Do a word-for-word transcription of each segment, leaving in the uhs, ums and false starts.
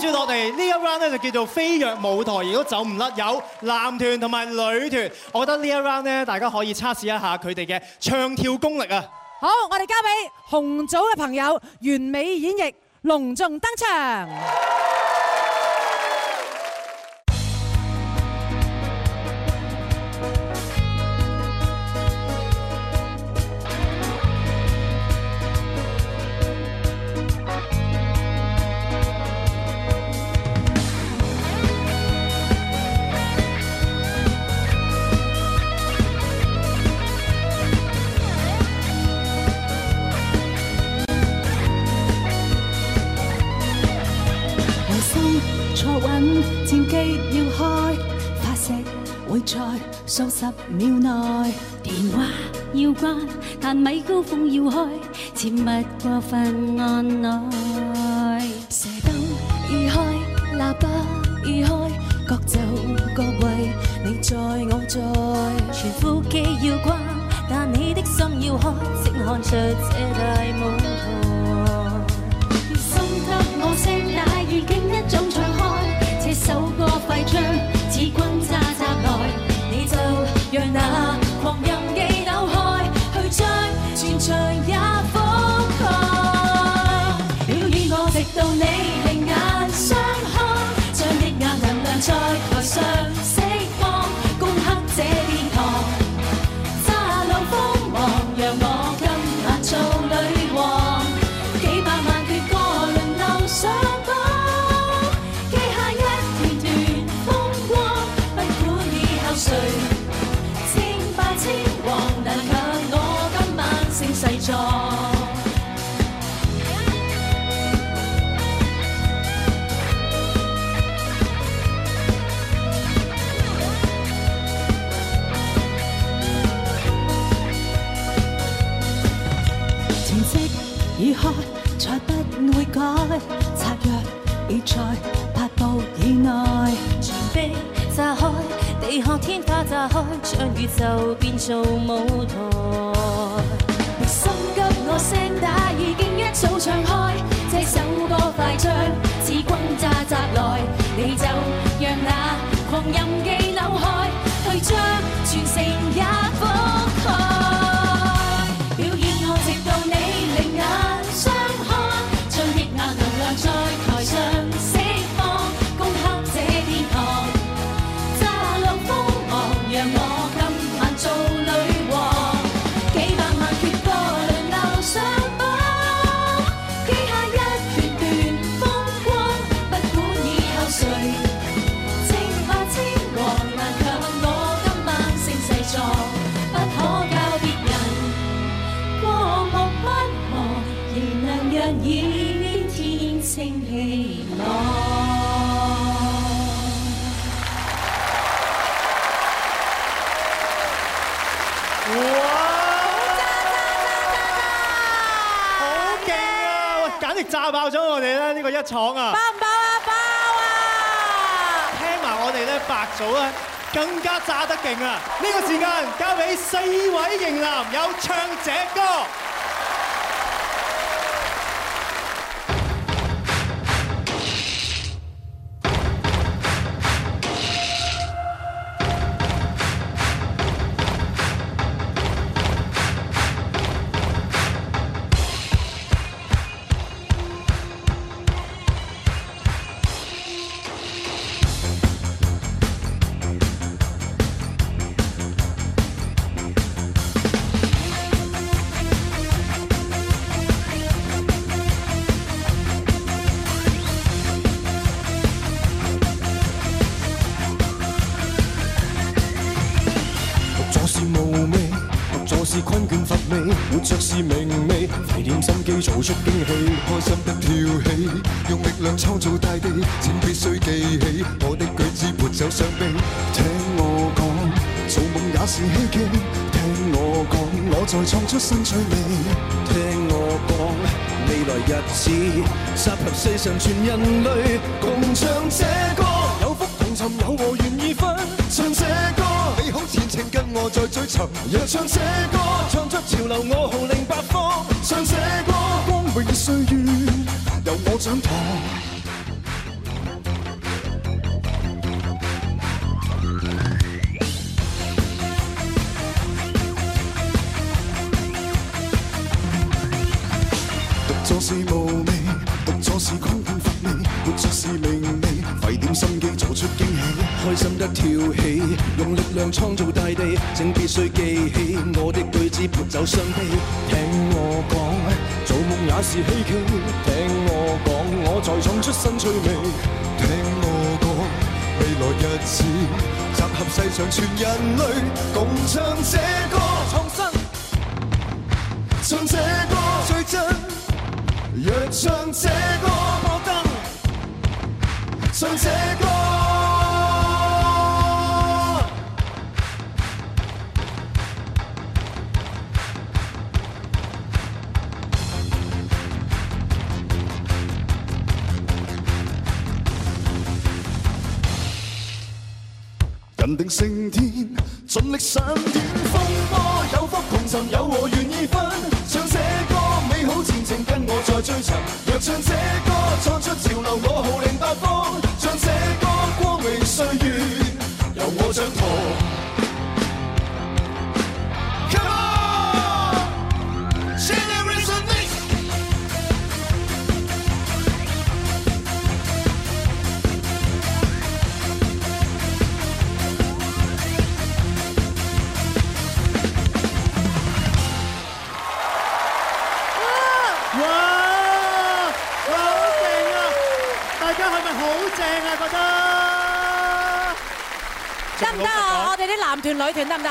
接落嚟呢一 round 咧就叫做飛躍舞台，亦都走唔甩有男團同埋女團。我覺得呢一 round 咧，大家可以測試一下佢哋嘅唱跳功力啊！ 好，我哋交俾紅組嘅朋友完美演繹，隆重登場。 戰機要開，發射會在數十秒內。電話要關，但米高峰要開，切勿過分按耐。射燈已開，喇叭已開，各就各位，你在我在。傳呼機要關，但你的心要開，請看出這大舞台。心給我聲帶，已經一早唱開。這首歌快將似轟炸襲來，你就讓那狂任記扭開，去將全場也覆蓋。表演我直到你另眼相看，將抑壓能量在台上釋放，攻克這殿堂，炸浪鋒芒，讓我今晚做女王，幾百萬闕歌輪流上榜。誰稱霸稱王，難卻我今晚勝勢壯。程式已開，才不會改，策略已在八步以內，全被炸開。地殼天花炸開，將宇宙變做舞台。心急我聲帶已經一早唱開，這首歌快將似轟炸襲來，你就讓那狂任記扭開，去將全城也覆蓋。表演我直到你另眼相看，將抑壓能量在台上釋放，攻克這殿堂。讓我今晚做女王，幾百萬闕歌輪流上榜，記下一段段風光，不管以後誰稱霸稱王，難卻我今晚勝勢壯，不可教別人過目不忘，仍能讓倚天天清氣朗。 哇！好勁啊！喂，簡直炸爆咗我哋咧呢個一廠啊！ 爆唔爆啊？爆啊！ 聽埋我哋咧白組咧更加炸得勁啊！呢個時間交俾四位型男，有唱這歌。 活着是明媚，費點心機做出驚喜，開心的跳起，用力量創造大地，請必須記起我的舉止沒有傷悲。聽我講，做夢也是希冀，聽我講，我在創出新趣味。聽我講，未來日子集合世上全人類，共唱這歌，有福同尋，有我願意分，唱這歌。美好前程跟我在追尋，若唱這歌，唱出潮流我號令八方。唱這歌，光榮歲月由我掌舵。 是無味，讀錯是空空乏味，活着是明媚，費點心機做出驚喜，開心得跳起，用力量創造大地，請必須記起我的句子撥走傷悲。聽我講，做夢也是希冀，聽我講，我在闖出新趣味。聽我講，未來日子集合世上全人類，共唱這歌，創新。唱這歌最真，若唱這歌摩登，唱這歌。人定勝天，盡力閃電風波，有福同尋，有禍願意分。唱這歌美好前程，跟我再追尋。若唱這歌創出潮流，我號令八方。唱這歌光榮歲月，由我掌舵。 得唔得啊？我哋啲男團女團得唔得？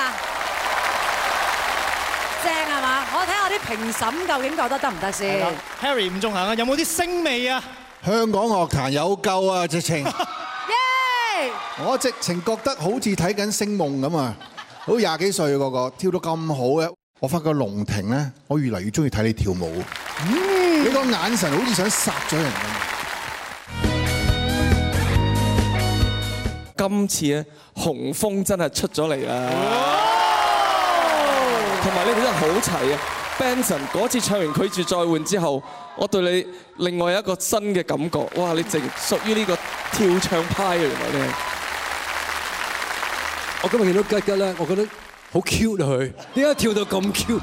正係嘛？我睇下啲評審究竟覺得得唔得先。 Harry 吳仲衡啊，有冇啲星味啊？ 香港樂壇有救啊！直情， 耶！ 我直情覺得好似睇緊星夢咁啊！好廿幾歲個個跳到咁好嘅，我發覺龍婷咧，我越嚟越中意睇你跳舞。嗯，你個眼神好似想殺咗人咁。 今次咧，雄風真係出咗嚟啦！同埋你哋真係好齊啊 ！Benson 嗰次唱完拒絕再換之後，我對你另外一個新嘅感覺，哇！你淨屬於呢個跳唱派啊！原來你係。 我今日見到吉吉咧，我覺得好 cute 啊佢，點解跳到咁 cute？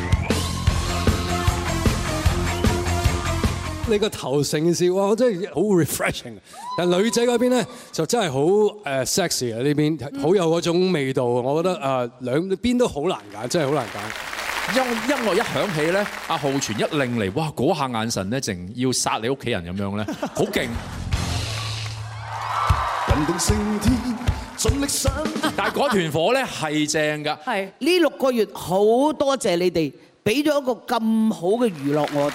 你個頭成笑，哇！我真係好 refreshing。但女仔嗰邊咧就真係好誒 sexy 啊！呢邊好有嗰種味道。我覺得誒兩邊都好難揀，真係好難揀。 音音樂一響起咧，阿浩全一擰嚟，哇！嗰下眼神咧，淨要殺你屋企人咁樣咧，好勁。 人定勝天，盡力上。 但係嗰團火咧係正㗎。 係呢六個月好多謝你哋，俾咗一個咁好嘅娛樂我。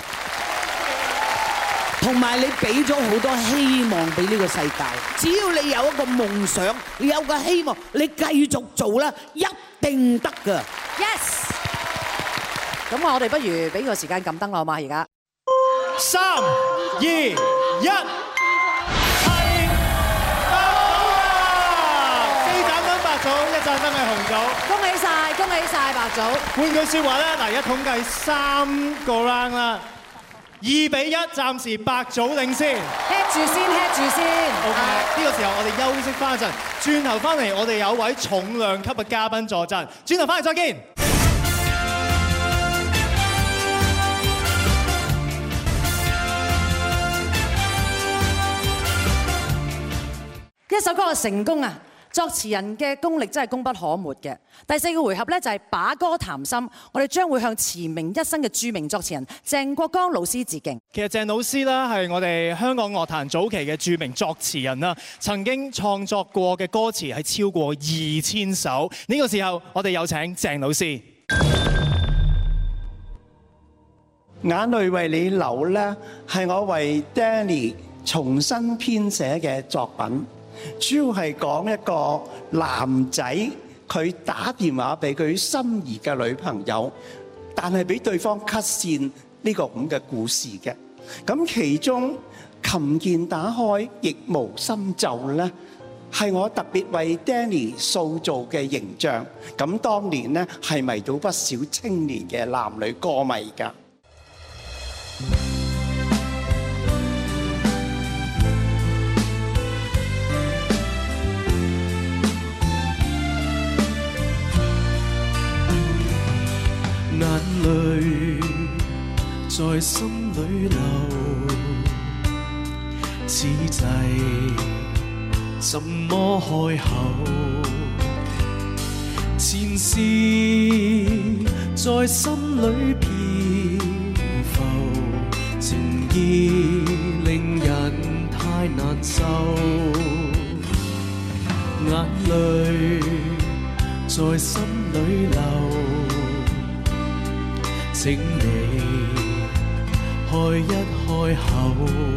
同埋你俾咗好多希望俾呢個世界，只要你有一個夢想，你有個希望，你繼續做啦，一定得㗎。 Yes。咁我哋不如俾個時間撳燈啦，好嘛？而家三二一，係白組啊！四盞燈白組，一盞燈係紅組。 恭喜晒，恭喜晒白組。 換句説話咧，嗱，而家統計三個 round 啦。二比一，暫時白組領先。 hit 住先 hit 住先。 OK，呢個時候我哋休息翻一陣，轉頭翻嚟我哋有位重量級嘅嘉賓助陣，轉頭翻嚟再見。 一首歌嘅成功啊！作詞人嘅功力真係功不可沒嘅。第四個回合咧就係把歌談心，我哋將會向馳名一生嘅著名作詞人鄭國江老師致敬。 其實鄭老師咧係我哋香港樂壇早期嘅著名作詞人啦，曾經創作過嘅歌詞係超過二千首。呢個時候我哋有請鄭老師。 眼淚為你流咧，係我為 Danny 重新編寫嘅作品。主要係講一個男仔，佢打電話俾佢心儀嘅女朋友，但係俾對方 cut 線呢個咁嘅故事嘅。咁其中琴鍵打開亦無心奏咧，係我特別為 Danny 塑造嘅形象。咁當年咧係迷到不少青年嘅男女歌迷㗎。 眼淚在心裏留，此際怎麼開口？前事在心裏漂浮，情意令人太難受，眼淚在心裏流，請你開一開口，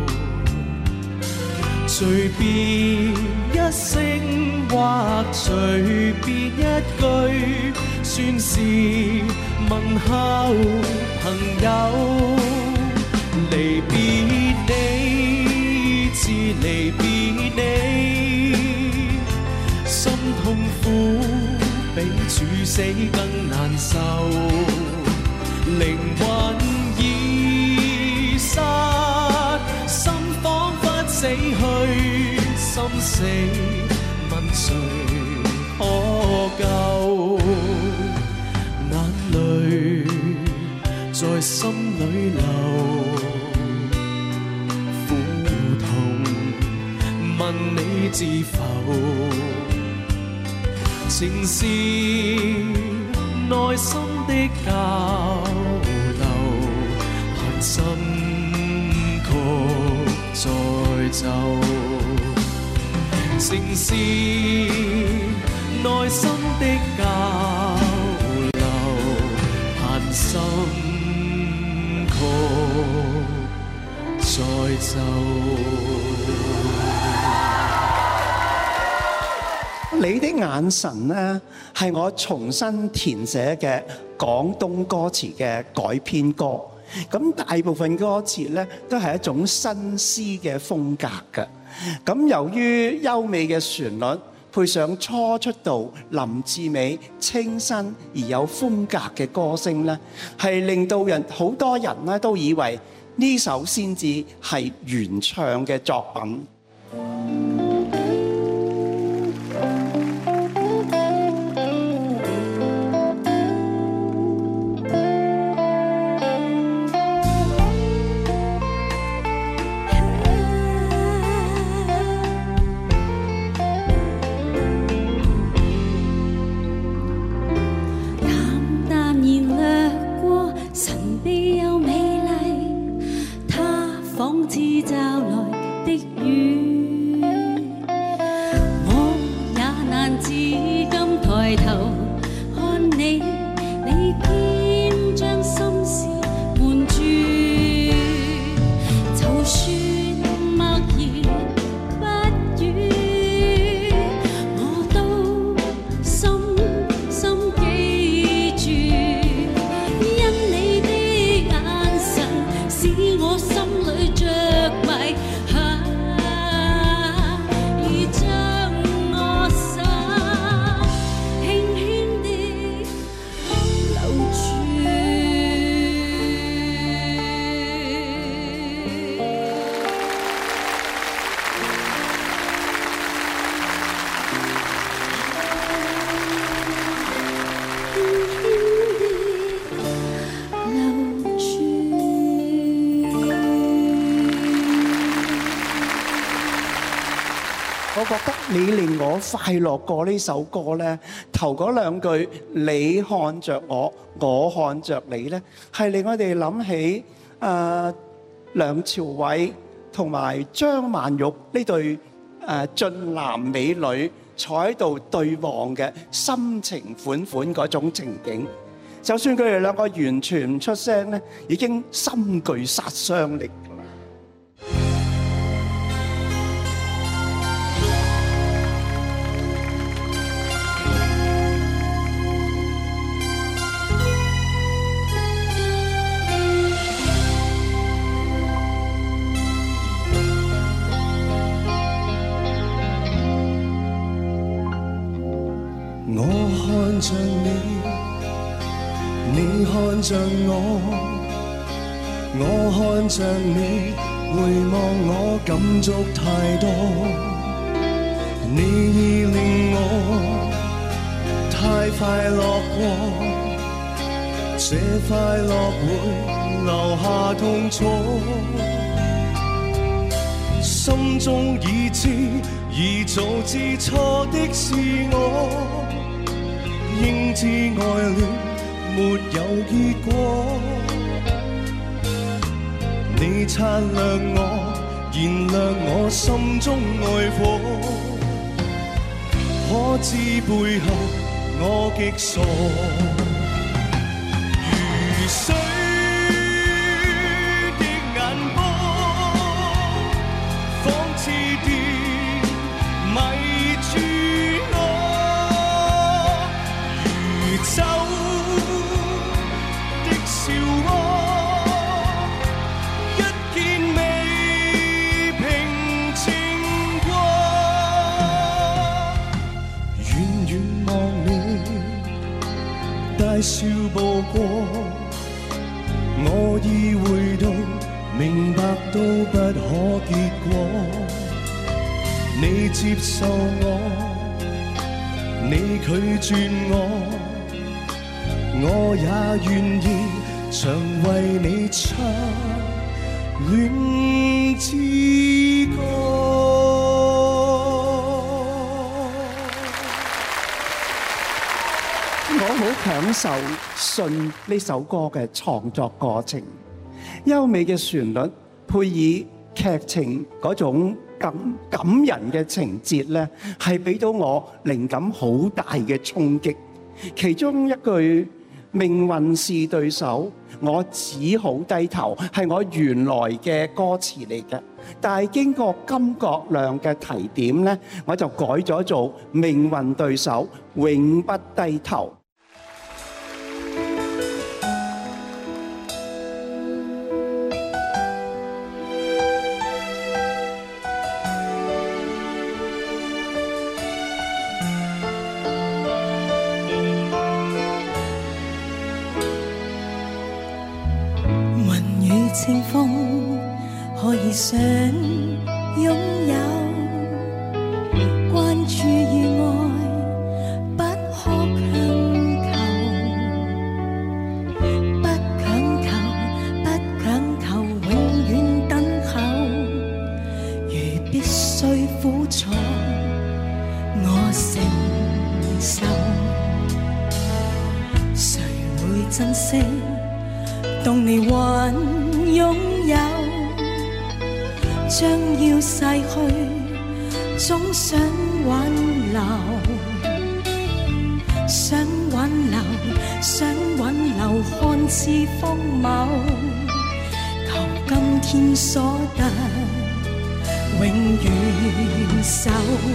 隨便一聲或隨便一句，算是問候朋友。離別你，至離別你，心痛苦比處死更難受，靈魂已失，心彷彿死去，心死問誰可救？眼淚在心裏流，苦痛問你知否？情是內心的交流，盼心曲再奏。情是內心的交流，盼心曲再奏。 你的眼神呢，係我重新填寫嘅廣東歌詞嘅改編歌。咁大部分歌詞呢，都係一種新詩嘅風格嘅。咁由於優美嘅旋律，配上初出道林志美清新而有風格嘅歌聲呢，係令到人好多人呢都以為呢首先至係原唱嘅作品。你令我快樂過呢首歌呢，頭嗰兩句你看着我，我看着你呢，係令我哋諗起誒梁朝偉同埋張曼玉呢對誒俊男美女坐喺度對望嘅深情款款嗰種情景。就算佢哋兩個完全唔出聲呢，已經深具殺傷力。 看着你，你看着我，我看着你，回望我感觸太多，你已令我太快樂過，這快樂會留下痛楚。心中已知，已早知錯的是我，應知愛戀沒有結果。你擦亮我，燃亮我心中愛火，可知背後我極傻。如水的眼波，仿似電迷住我，如酒的笑窩，一見未平靜過。遠遠望你，大笑步過。我已會到，明白都不可結果。你接受我，你拒絕我，我也願意常為你唱戀之歌。 我好享受信呢首歌嘅創作過程，優美嘅旋律配以劇情嗰種感感人嘅情節咧，係俾到我靈感好大嘅衝擊。其中一句命運是對手，我只好低頭，係我原來嘅歌詞嚟嘅。但係經過甘國亮嘅提點咧，我就改咗做命運對手，永不低頭。 清風可以想擁有，關注與愛不可強求，不強求，不強求，永遠等候。如必須苦楚，我承受，誰會珍惜？當你還擁有，將要逝去，總想挽留，想挽留，想挽留，看似荒謬，求今天所得，永遠守。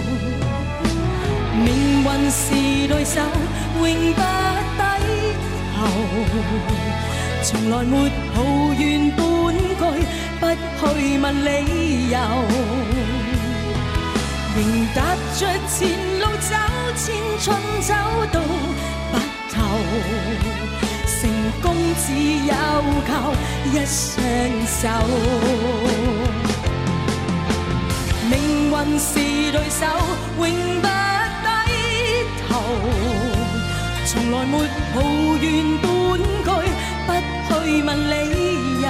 命運是對手，永不低頭。從來沒抱怨半句，不去問理由，仍踏着前路走，千春走到白頭，成功只有靠一雙手。命運是對手，永不低頭，從來沒抱怨半句，不去問理由，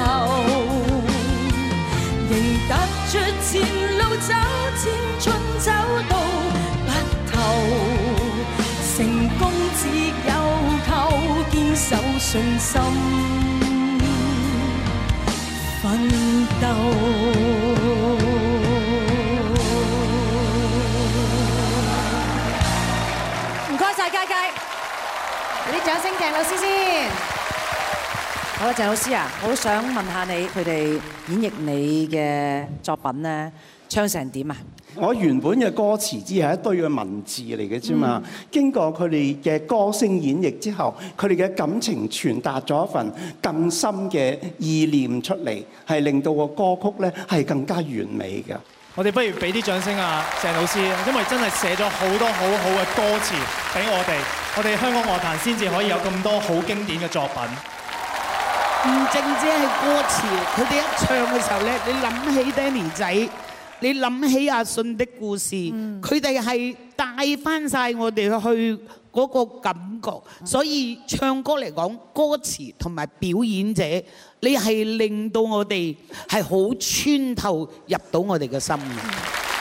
仍踏着前路走，千春走到白頭，成功只有靠堅守信心奮鬥。 唔該曬佳佳，俾啲掌聲鄭老師先。好啦，鄭老師啊，我好想問下你，佢哋演繹你嘅作品咧，唱成點啊？ 我原本嘅歌詞只係一堆嘅文字嚟嘅啫嘛，經過佢哋嘅歌聲演繹之後，佢哋嘅感情傳達咗一份更深嘅意念出嚟，係令到個歌曲咧係更加完美嘅。 我哋不如俾啲掌聲啊，鄭老師，因為真係寫咗好多好好嘅歌詞俾我哋，我哋香港樂壇先至可以有咁多好經典嘅作品。 唔淨止係歌詞，佢哋一唱嘅時候咧，你諗起 Danny 仔你諗起阿信的故事，佢哋係帶翻晒我哋去嗰個感覺，所以唱歌嚟講，歌詞同埋表演者，你係令到我哋係好穿透入到我哋嘅心嘅。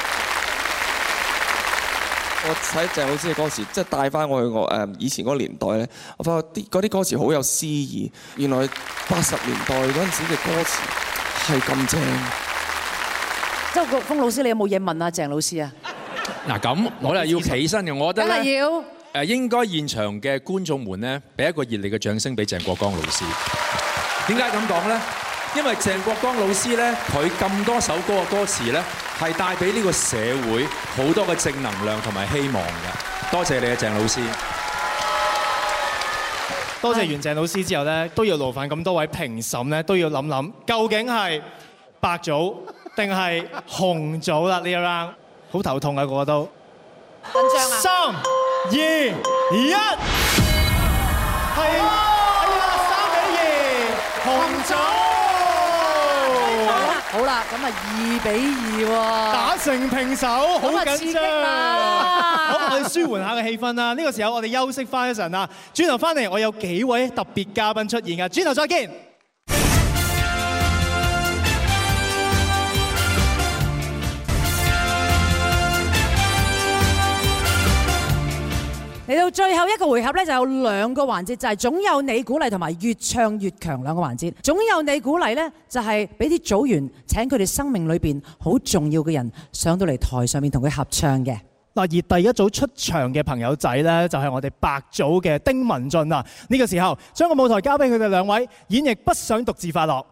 我睇鄭老師嘅歌詞，即係帶翻我去我誒以前嗰個年代咧，我發覺啲嗰啲歌詞好有詩意。原來八十年代嗰陣時嘅歌詞係咁正。 周國峰老師，你有冇嘢問啊鄭老師啊？ 嗱咁，我又要起身嘅，我覺得梗係要誒應該現場嘅觀眾們咧，俾一個熱烈嘅掌聲俾鄭國江老師。點解咁講咧？因為鄭國江老師咧，佢咁多首歌嘅歌詞咧，係帶俾呢個社會好多嘅正能量同埋希望嘅。多謝你啊，鄭老師。 多謝完鄭老師之後咧，都要勞煩咁多位評審咧，都要諗諗究竟係白組定係紅組啦？呢一 round 好頭痛啊，個個都緊張啊！ 三二一，係哎呀，三比二，紅組。 好啦，咁啊二比二喎， 打成平手，好緊張啦！ 好，我哋舒緩下嘅氣氛啦。呢個時候我哋休息翻一陣啦，轉頭翻嚟我有幾位特別嘉賓出現㗎，轉頭再見。 嚟到最後一個回合咧，就有兩個環節，就係總有你鼓勵同埋越唱越強兩個環節。總有你鼓勵咧，就係俾啲組員請佢哋生命裏邊好重要嘅人上到嚟台上面同佢合唱嘅。 嗱，而第一組出場嘅朋友仔咧，就係我哋白組嘅丁文俊啊。呢個時候將個舞台交俾佢哋兩位演繹《不想獨自快樂》。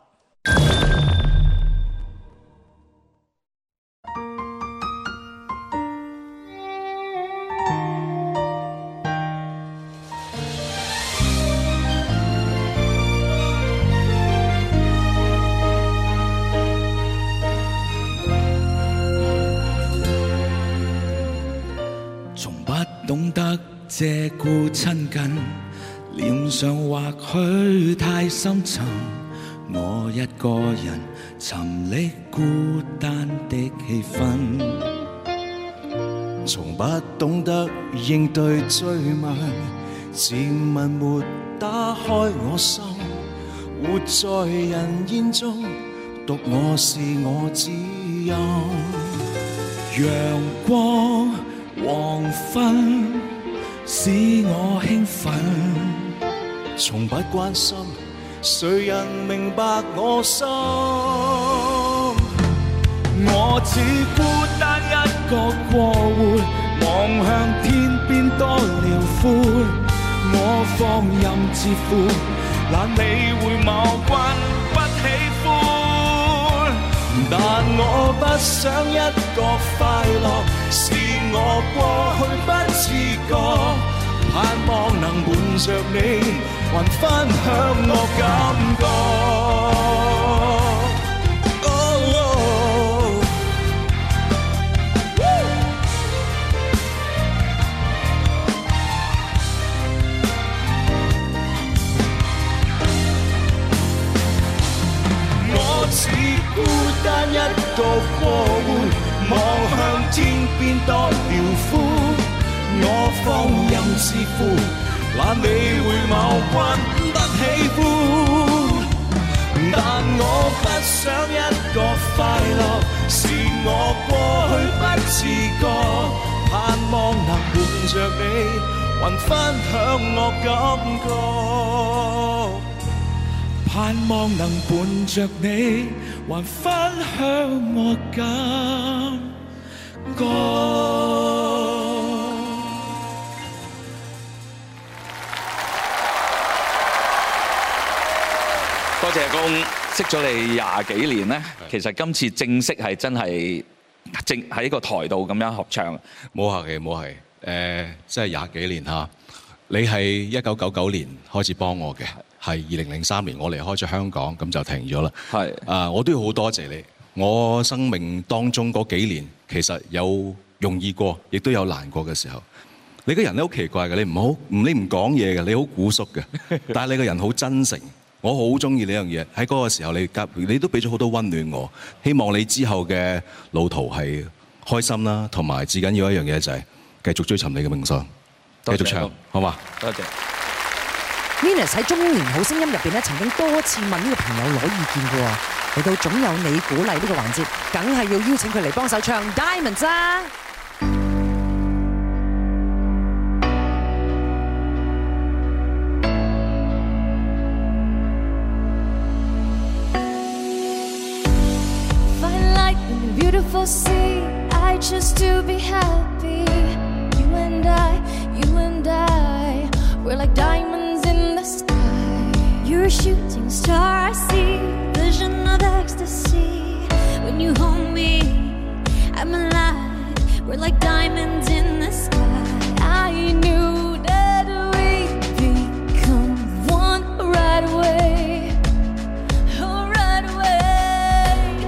懂得借故親近，臉上或許太深沉，我一個人沉溺孤單的氣氛，從不懂得應對追問，自問沒打開我心，活在人煙中，獨我是我知音，陽光黃昏使我興奮，從不關心誰人明白我心，我只孤單一個過活，望向天邊多遼闊，我放任自負，懶理會某君不喜歡，但我不想一個快樂是我過去不自覺，盼望能伴着你還分享我感覺。Oh, oh. 我只孤單一個過活，望向天邊多遼闊，我放任自負，懶理會某君不喜歡，但我不想一個快樂是我過去不自覺，盼望能伴着你還分享我感覺，盼望能伴着你還分享我感覺。 多謝公，識咗你廿幾年咧，其實今次正式係真係正喺個台度咁樣合唱。 冇客氣，冇客氣。誒，即係廿幾年嚇。你係一九九九年開始幫我嘅，係二零零三年我離開咗香港，咁就停咗啦。係啊，我都要好多謝你。我生命當中嗰幾年，其實有容易過，亦都有難過嘅時候。你個人咧好奇怪嘅，你唔好唔你唔講嘢嘅，你好古縮嘅，但係你個人好真誠。 我好中意呢樣嘢。喺嗰個時候你夾，你都俾咗好多溫暖我。希望你之後嘅路途係開心啦，同埋至緊要一樣嘢就係繼續追尋你嘅夢想，繼續唱，好嘛？ 多謝。 Venus 喺中年好聲音入邊咧，曾經多次問呢個朋友攞意見嘅喎。嚟到總有你鼓勵呢個環節，梗係要邀請佢嚟幫手唱 Diamonds 啊！ Beautiful sea, I choose to be happy. You and I, you and I, we're like diamonds in the sky. You're a shooting star, I see vision of ecstasy. When you hold me, I'm alive. We're like diamonds in the sky. I knew that we'd become one right away. Oh, right away.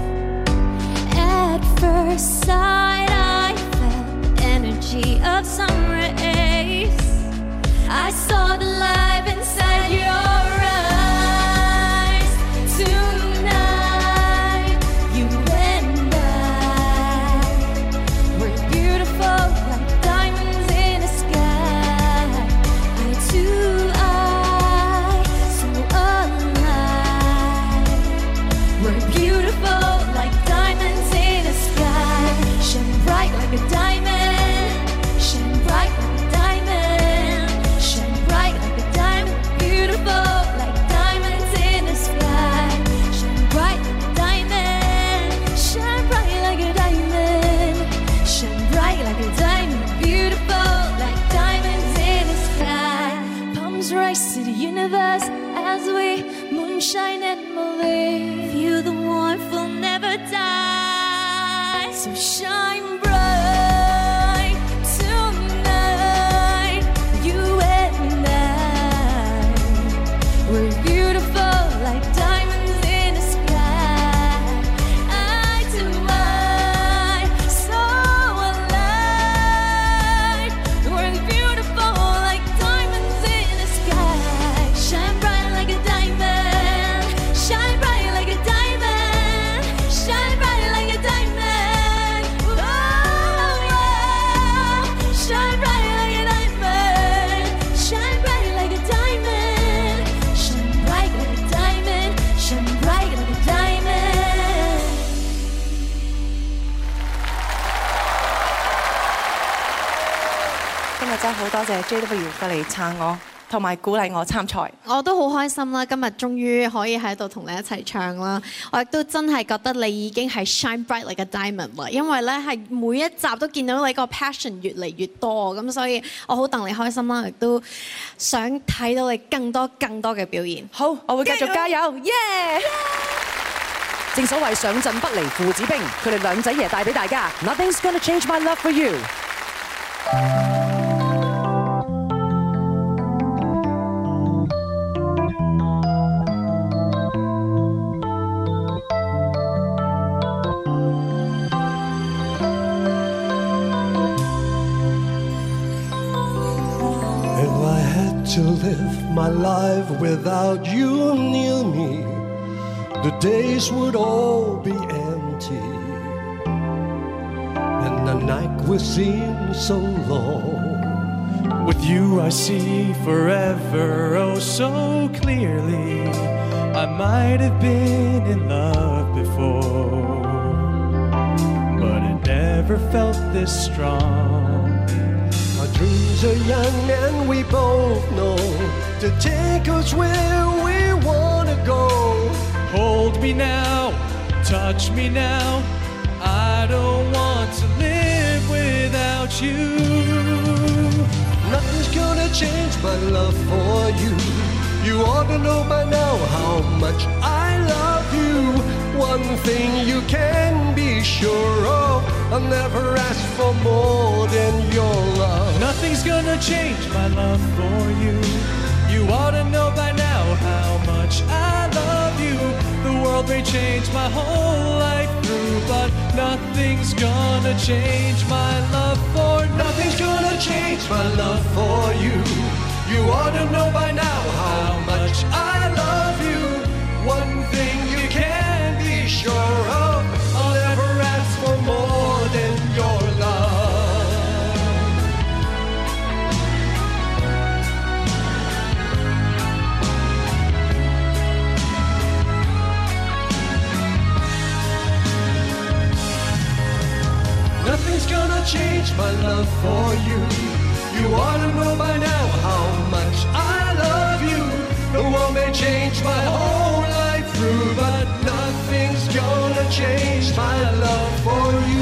At first sight, I felt the energy of sun rays. I saw the light inside your eyes. Tonight, you and I, we're beautiful like diamonds in the sky. Eye to eye, so alive. We're beautiful like diamonds in the sky. Shine bright like a diamond. Shine bright like a diamond. Shine bright like a diamond. Beautiful like diamonds in the sky. Shine bright like a diamond. Shine bright like a diamond. Shine bright like a diamond. Beautiful like diamonds in the sky. Palms rise to the universe as we moonshine and believe. Feel the warmth will never die. So shine bright tonight. You and I, we're beautiful like diamonds in the sky. Eye to eye, so alive. We're beautiful like diamonds in the sky. Shine bright like a diamond. Shine bright like a diamond. Shine bright like a diamond. Oh, yeah. Shine bright like a diamond. Shine bright like a diamond. Shine bright like a diamond. Shine bright like a diamond. 今日真係好多謝 J W 過嚟撐我，同埋鼓勵我參賽。 我都好開心啦！今日終於可以喺度同你一齊唱啦！我亦都真係覺得你已經係 shine bright like a diamond 啦，因為咧係每一集都見到你個 passion 越嚟越多，咁所以我好戥你開心啦，亦都想睇到你更多更多嘅表現。 好，我會繼續加油，耶！ 正所謂上陣不離父子兵，佢哋兩仔爺帶俾大家 Nothing's gonna change my love for you。 If I had to live my life without you near me, the days would all be empty, and the night would seem so long. With you I see forever oh so clearly. I might have been in love before, but it never felt this strong. Our dreams are young and we both know to take us where we wanna go. Hold me now, touch me now. I don't want to live without you. Nothing's gonna change my love for you. You ought to know by now how much I love you. One thing you can be sure of, I'll never ask for more than your love. Nothing's gonna change my love for you. You ought to know by now how much I love you. The world may change my whole life through, but nothing's gonna change my love for. Nothing's gonna change my love for you. You ought to know by now how much I love you. One thing you can be sure of, I'll never ask for more than your love. Nothing's gonna change my love for you. You ought to know by now how much I love you. The world may change my whole life through, but nothing's gonna change my love for you.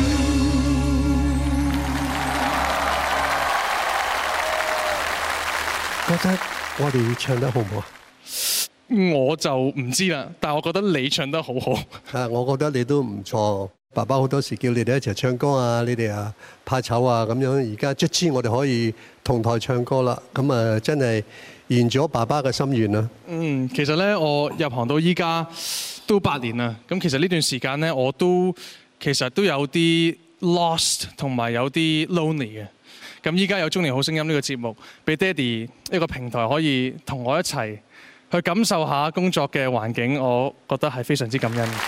覺得我哋唱得好唔好啊？ 我就唔知啦，但係我覺得你唱得好好。 啊，我覺得你都唔錯。爸爸好多時叫你哋一齊唱歌啊，你哋啊怕醜啊咁樣。而家卒之我哋可以同台唱歌啦，咁啊真係圓咗爸爸嘅心願啦。 嗯，其實咧我入行到依家都八年啦，咁其實呢段時間咧我都其實都有啲 lost 同埋有啲 lonely 嘅。咁依家有《中年好聲音》呢個節目，俾爹哋一個平台可以同我一齊去感受下工作嘅環境，我覺得係非常之感恩。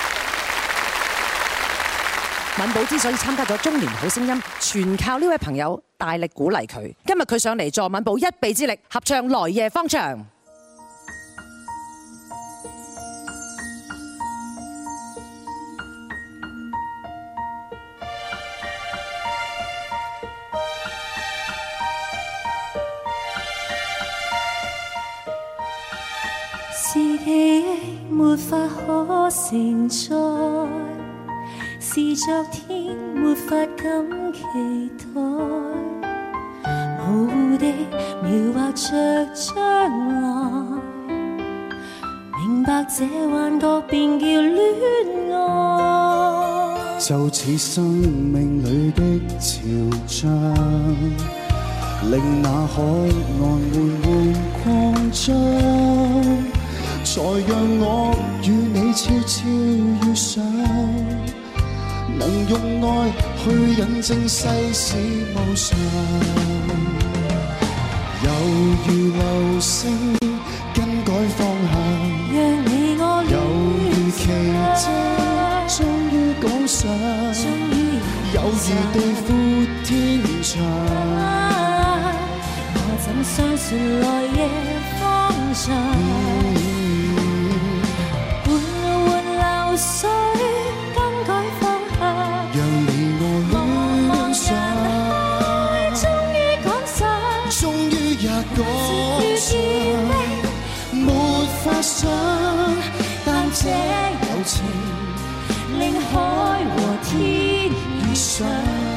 敏寶之所以參加咗《中年好聲音》，全靠呢位朋友大力鼓勵佢。今日佢上嚟助敏寶一臂之力，合唱《來夜方長》。 是記憶沒法可承載，是昨天沒法敢期待，模糊地描畫着將來，明白這幻覺便叫戀愛。 就似生命裏的潮漲，令那海岸緩緩擴張，再讓我與你悄悄遇上，能用愛去引證世事無常，猶如流星更改方向， 讓你我猶如奇蹟終於趕上，猶如地闊天長。 我怎相信來夜方長？緩緩流水更改方向， 讓你我戀上， 終於趕上， 終於也趕上，沒法想，但這友情令海和天遇上。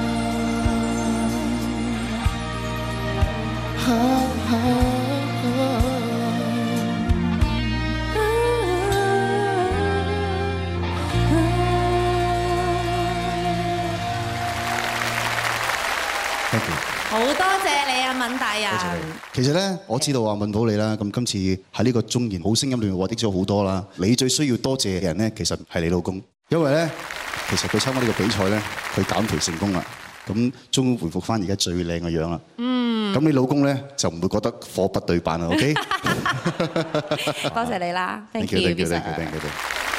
啊啊啊好多謝你啊，敏大人。 其實咧，我知道話敏寶你啦，咁今次喺呢個中年好聲音裏面獲得咗好多啦。你最需要多謝嘅人咧，其實係你老公，因為咧，其實佢參加呢個比賽咧，佢減肥成功啦，咁終於回復翻而家最靚嘅樣啦。嗯。咁你老公咧就唔會覺得貨不對版啦 ，OK？ 多謝你啦 ，thank you，thank you，thank you，thank you。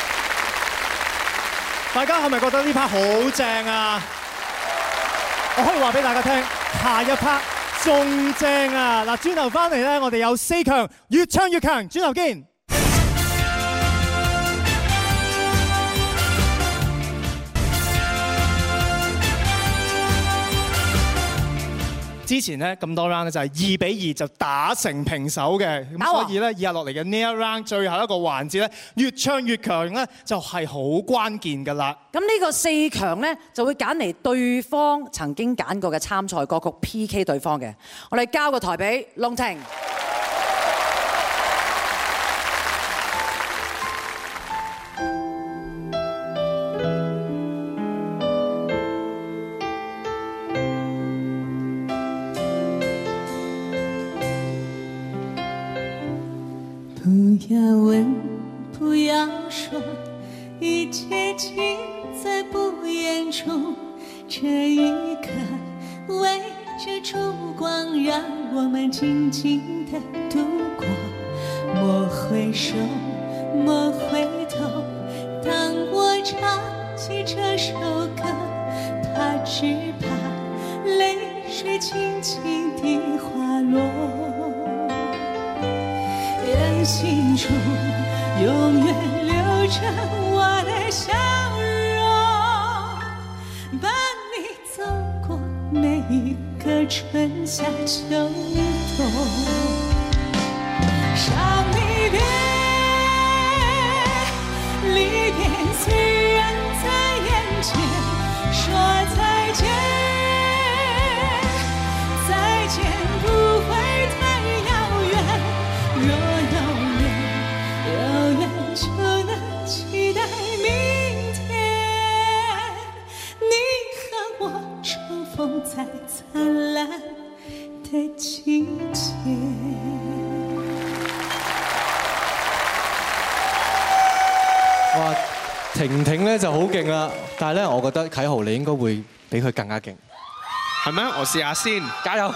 大家係咪覺得呢 part 好正啊？我可以話俾大家聽，下一 part 仲正啊！嗱，轉頭翻嚟咧，我哋有四強，越唱越強，轉頭見。之前咧咁多 round 咧就係二比二就打成平手嘅，咁所以咧以下落嚟嘅呢一 round 最後一個環節咧，越唱越強咧就係好關鍵㗎啦。 咁呢個四強咧就會揀嚟對方曾經揀過嘅參賽歌曲 P K 對方嘅。我哋交個台俾龍婷。 不要问，不要说，一切尽在不言中。这一刻，为这烛光让我们静静地度过。莫回首，莫回头，当我唱起这首歌，他只怕泪水轻轻地滑落。眼睛中永远留着我的笑容，伴你走过每一个春夏秋冬。伤离别，离别虽然在眼前，说再见，再见不会太遥远。若有缘，有缘就能期待明天，你和我重逢在灿烂的季节。 哇，婷婷咧就好勁啦，但係咧，我覺得啟豪你應該會比佢更加勁。 係咩？我試下先， 加油！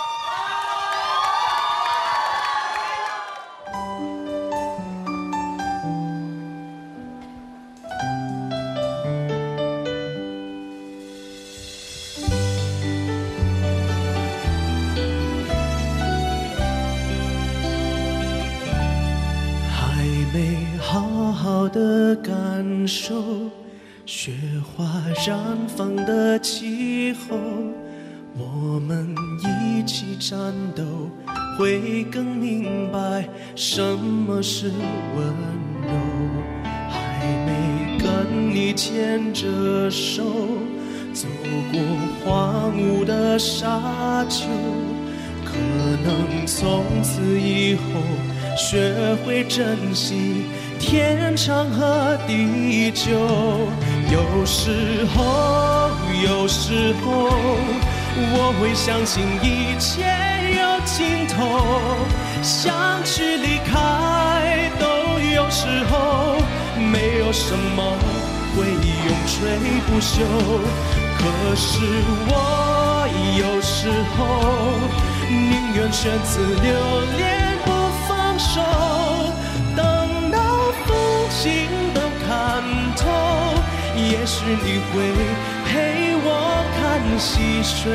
的感受，雪花绽放的气候，我们一起战斗，会更明白什么是温柔。还没跟你牵着手，走过荒芜的沙丘，可能从此以后学会珍惜天长和地久。有时候，有时候，我会相信一切有尽头，想去离开都有时候，没有什么会永垂不朽。可是我有时候宁愿选择留恋不放手，等到风景都看透，也许你会陪我看细水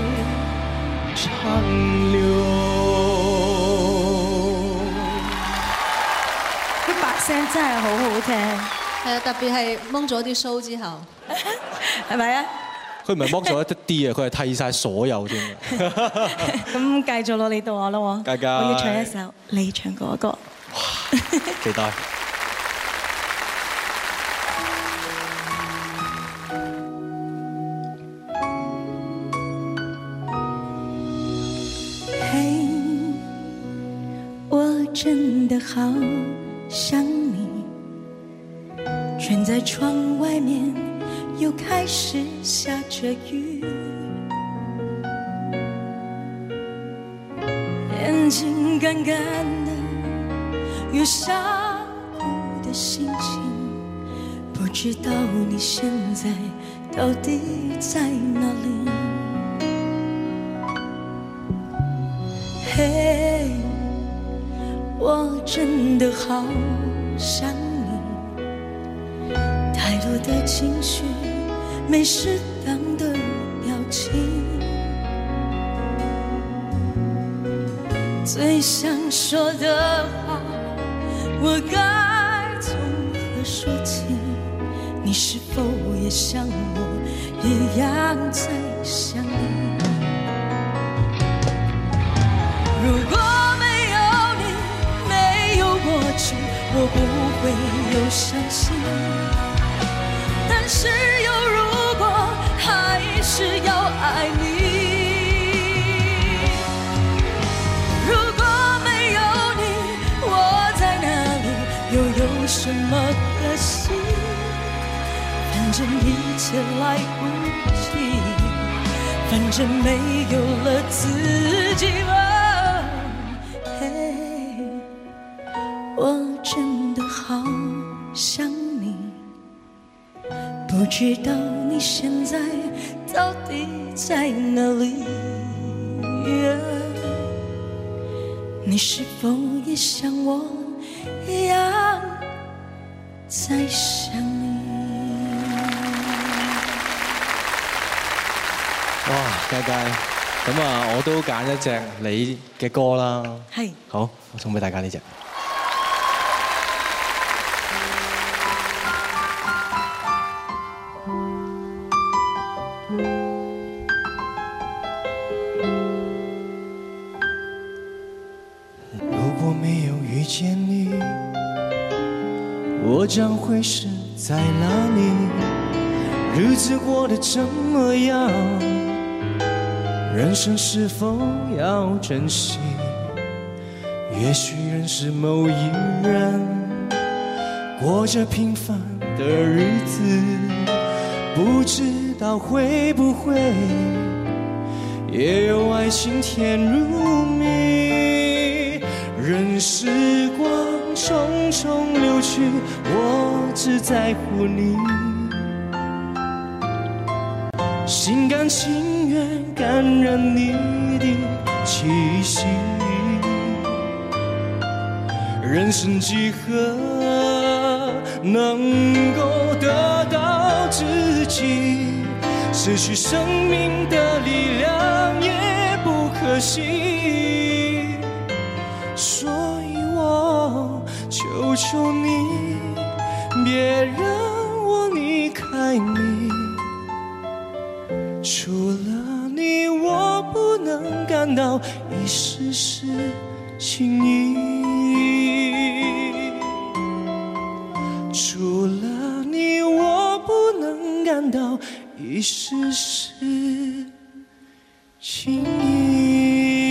长流。 啲白聲真係好好聽，係啊，特別係掹咗啲須之後，係咪啊？ 佢唔係剝咗一啲啊，佢係剃晒所有添嘅。 咁繼續落嚟到我啦喎， 佳佳我要唱一首你唱過嘅歌。 期待。 嘿，我真的好想你，站在窗外面又开始下着雨，眼睛干干的，有想哭的心情，不知道你现在到底在哪里。嘿，我真的好想你，太多的情绪，没适当的表情，最想说的话，我该从何说起？你是否也像我一样在想你？如果没有你，没有过去，我不会有伤心。但是有如果，还是要爱你。如果没有你，我在哪里，又有什么可惜？反正一切来不及，反正没有了自己。嘿，我真的好想你，不知道你现在到底在哪里。 你是否也像我一样在想你？ 哇，佳佳，咁啊，我都揀一隻你嘅歌啦。 係。 好，我送俾大家呢隻。 我将会是在哪里？日子过得怎么样？人生是否要珍惜？也许认识某一人，过着平凡的日子，不知道会不会也有爱情甜如蜜。任时光匆匆流去，我只在乎你，心甘情愿感染你的气息。人生几何能够得到知己？失去生命的力量也不可惜。所以我求求你，别让我离开你。除了你，我不能感到一丝丝情意。除了你，我不能感到一絲絲情意。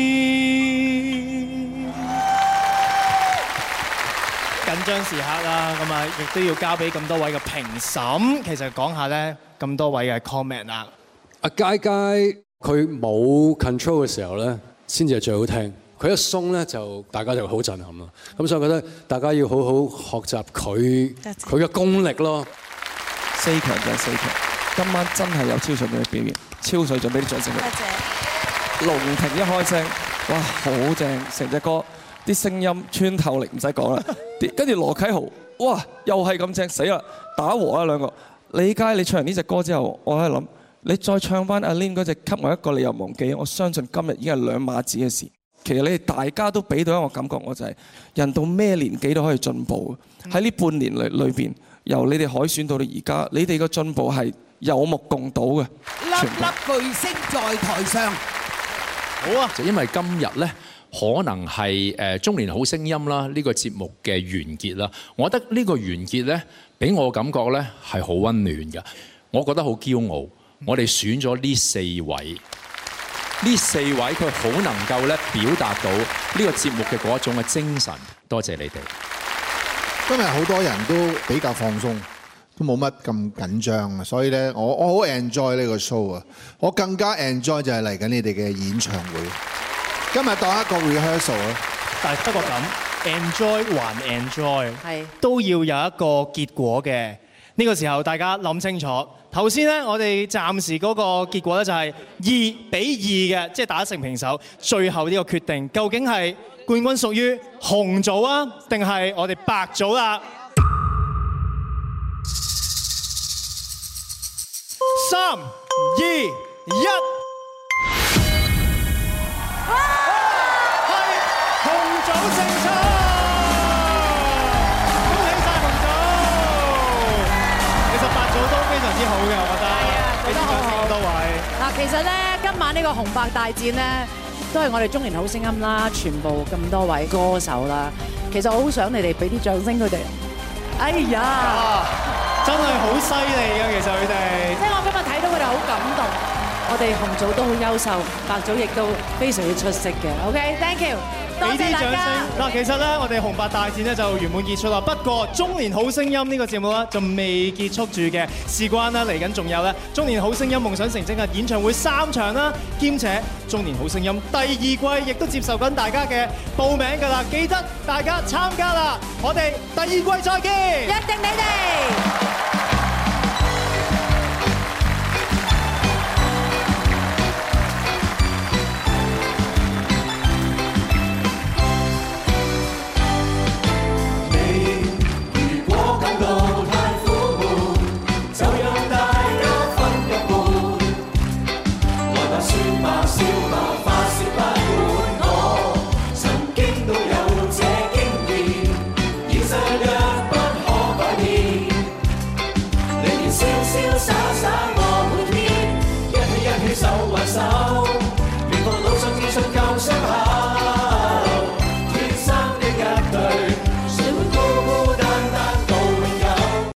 緊張時刻啦，咁啊，亦都要交俾咁多位嘅評審。其實講下咧，咁多位嘅 comment 啦。 阿佳佳佢冇 control 嘅時候咧，先至係最好聽。佢一鬆咧，就大家就好震撼咯。咁所以我覺得大家要好好學習佢佢嘅功力咯。 四強就係四強。今晚真係有超水準嘅表現，超水準，俾啲掌聲佢。多謝。龍婷一開聲，哇，好正！成隻歌啲聲音穿透力唔使講啦。跟住羅啟豪，哇，又係咁正，死啦！打和啊兩個。李佳，你唱完呢隻歌之後，我喺度諗，你再唱翻阿 Lin 嗰隻給我一個理由忘記，我相信今日已經係兩碼子嘅事。其實你哋大家都俾到一個感覺，我就係人到咩年紀都可以進步。喺呢半年裏裏邊，由你哋海選到到而家，你哋嘅進步係有目共睹嘅， 粒粒巨星在台上。 好啊！就因為今日呢，可能係誒中年好聲音啦，呢個節目嘅完結啦。我覺得呢個完結呢，俾我感覺呢係好溫暖嘅。我覺得好驕傲，我哋選咗呢四位，呢四位佢好能夠咧表達到呢個節目嘅嗰一種嘅精神。多謝你哋。 今日好多人都比較放鬆。都冇乜咁緊張啊，所以咧，我我好 enjoy 呢個 show 啊！我更加 enjoy 就係嚟緊你哋嘅演唱會。今日當一個 rehearsal 啊， 但係不過咁 enjoy 還 enjoy， 係都要有一個結果嘅。呢個時候大家諗清楚。頭先咧，我哋暫時嗰個結果咧就係二比二嘅，即係打成平手。最後呢個決定究竟係冠軍屬於紅組啊，定係我哋白組啦？三、二、一，係紅組勝出，恭喜晒紅組！其實白組都非常之好嘅，我覺得。係啊，做得好好。多位。 嗱，其實咧，今晚呢個紅白大戰咧，都係我哋中年好聲音啦，全部咁多位歌手啦。其實我好想你哋俾啲掌聲佢哋。哎呀！ 真係好犀利嘅，其實佢哋。 即係我今日睇到佢哋好感動，我哋紅組都好優秀，白組亦都非常之出色嘅。OK，thank you，多謝大家。 嗱，其實咧，我哋紅白大戰咧就圓滿結束啦。不過中年好聲音呢個節目咧就未結束住嘅，事關啦嚟緊仲有咧中年好聲音夢想成真嘅演唱會三場啦，兼且中年好聲音第二季亦都接受緊大家嘅報名㗎啦，記得大家參加啦！我哋第二季再見， 約定你哋。